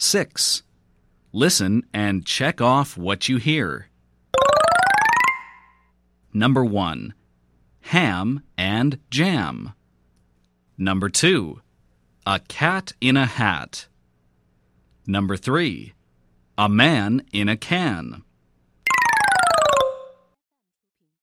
6. Listen and check off what you hear. Number 1. Ham and jam. Number 2. A cat in a hat. Number 3. A man in a can.